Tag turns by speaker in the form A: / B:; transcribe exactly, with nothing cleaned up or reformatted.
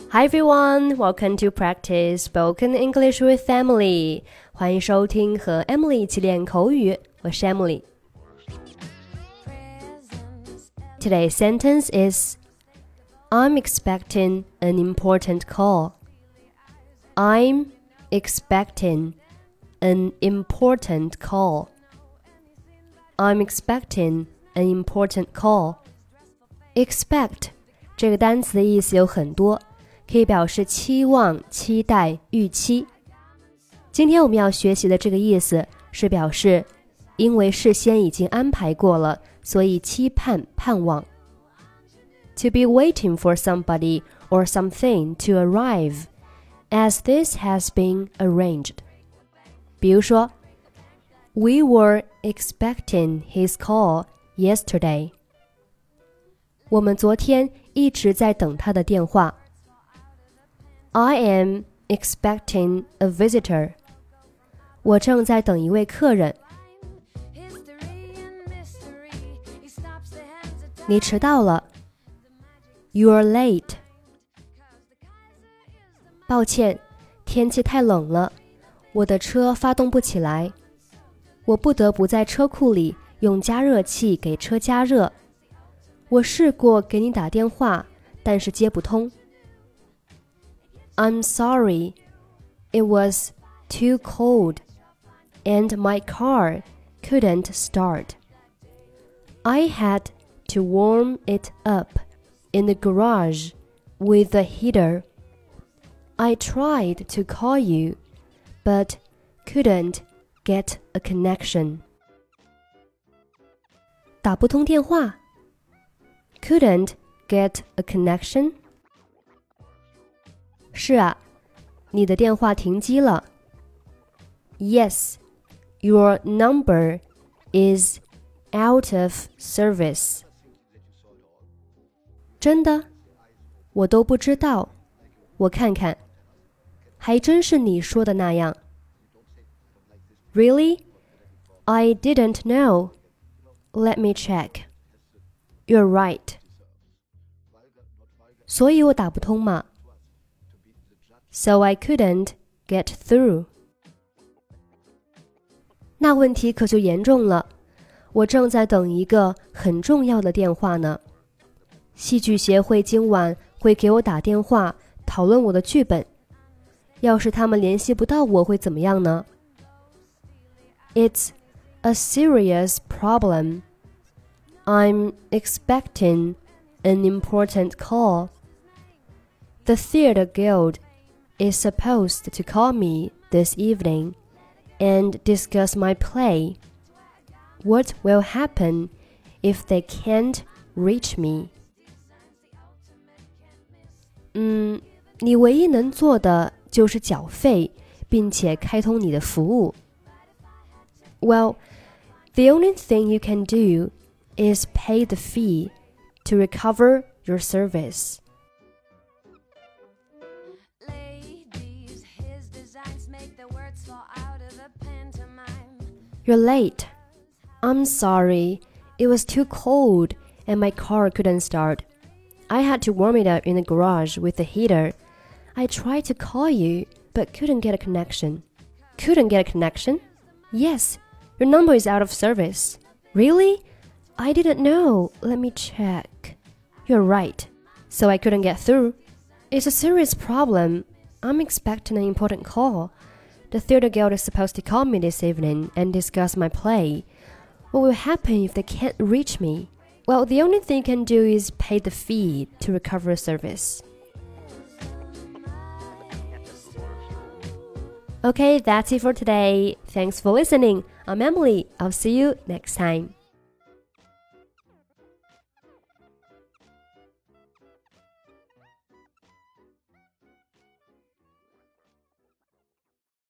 A: Hi everyone, welcome to practice spoken English with Emily. 欢迎收听和 Emily 一起练口语，我是 Emily. Today's sentence is I'm expecting an important call. I'm expecting an important call. I'm expecting an important call. Expect 这个单词的意思有很多，可以表示期望、期待、预期。今天我们要学习的这个意思是表示因为事先已经安排过了，所以期盼、盼望。To be waiting for somebody or something to arrive, as this has been arranged. 比如说 We were expecting his call yesterday. 我们昨天一直在等他的电话。I am expecting a visitor. 我正在等一位客人。你迟到了。You're late. 抱歉，天气太冷了，我的车发动不起来。我不得不在车库里用加热器给车加热。我试过给你打电话，但是接不通。I'm sorry, it was too cold, and my car couldn't start. I had to warm it up in the garage with the heater. I tried to call you, but couldn't get a connection. 打不通电话。Couldn't get a connection? 是啊，你的电话停机了。Yes, your number is out of service. 真的？我都不知道。我看看。还真是你说的那样。Really? I didn't know. Let me check. You're right. 所以我打不通嘛。So I couldn't get through. 那问题可就严重了，我正在等一个很重要的电话呢。戏剧协会今晚会给我打电话讨论我的剧本，要是他们联系不到我会怎么样呢？ It's a serious problem. I'm expecting an important call. The Theatre Guild is supposed to call me this evening and discuss my play. What will happen if they can't reach me? 嗯，你唯一能做的就是缴费，并且开通你的服务。Well, the only thing you can do is pay the fee to recover your service. Ladies, his designs make the words fall out of the pantomime. You're late. I'm sorry. It was too cold and my car couldn't start. I had to warm it up in the garage with the heater. I tried to call you, but couldn't get a connection. Couldn't get a connection? Yes, your number is out of service. Really? I didn't know. Let me check. You're right. So I couldn't get through. It's a serious problem. I'm expecting an important call. The Theatre Guild is supposed to call me this evening and discuss my play. What will happen if they can't reach me? Well, the only thing you can do is pay the fee to recover a service. Okay, that's it for today. Thanks for listening. I'm Emily. I'll see you next time.